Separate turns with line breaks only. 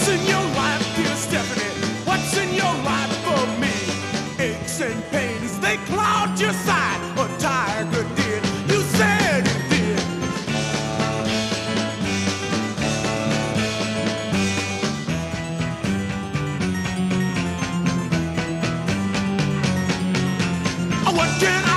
in your life, dear Stephanie? What's in your life for me? Aches and pains, they cloud your sight. A tiger did, you said it did. What can